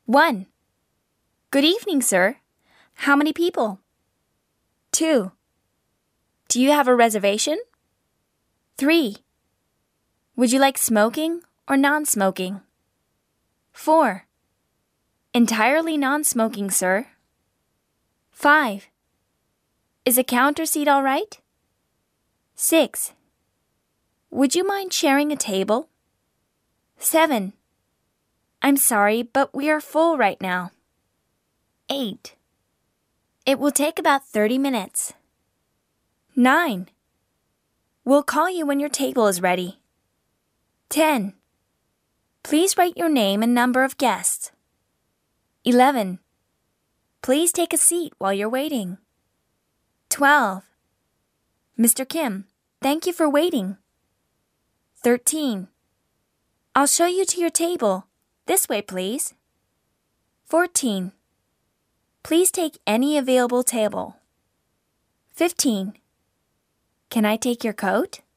1. Good evening, sir. How many people? 2. Do you have a reservation? 3. Would you like smoking or non-smoking? 4. Entirely non-smoking, sir. 5. Is a counter seat all right? 6. Would you mind sharing a table? 7. I'm sorry, but we are full right now. 8. It will take about 30 minutes. 9. We'll call you when your table is ready. 10. Please write your name and number of guests. 11. Please take a seat while you're waiting. 12. Mr. Kim, thank you for waiting. 13. I'll show you to your table. This way, please. 14. Please take any available table. 15. Can I take your coat?